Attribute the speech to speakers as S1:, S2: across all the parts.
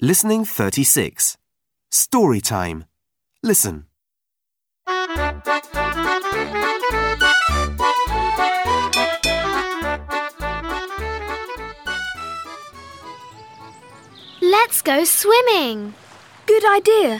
S1: Listening 36. Story time. Listen.
S2: Let's go swimming.
S3: Good idea.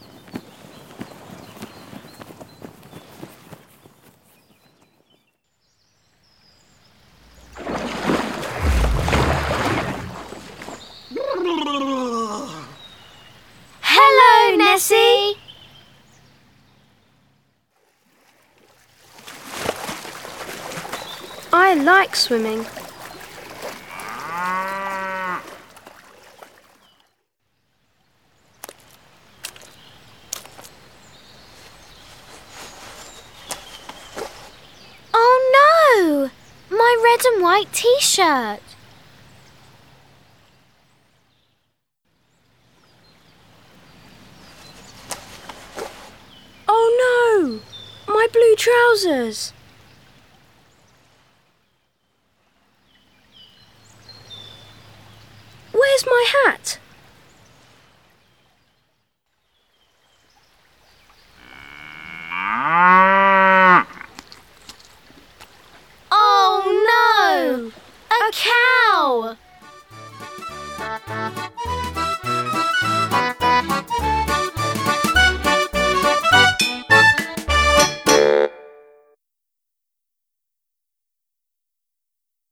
S2: Hello, Nessie.
S3: I like swimming.
S2: Oh no! My red and white t-shirt.
S3: Oh no! My blue trousers. Where's my hat?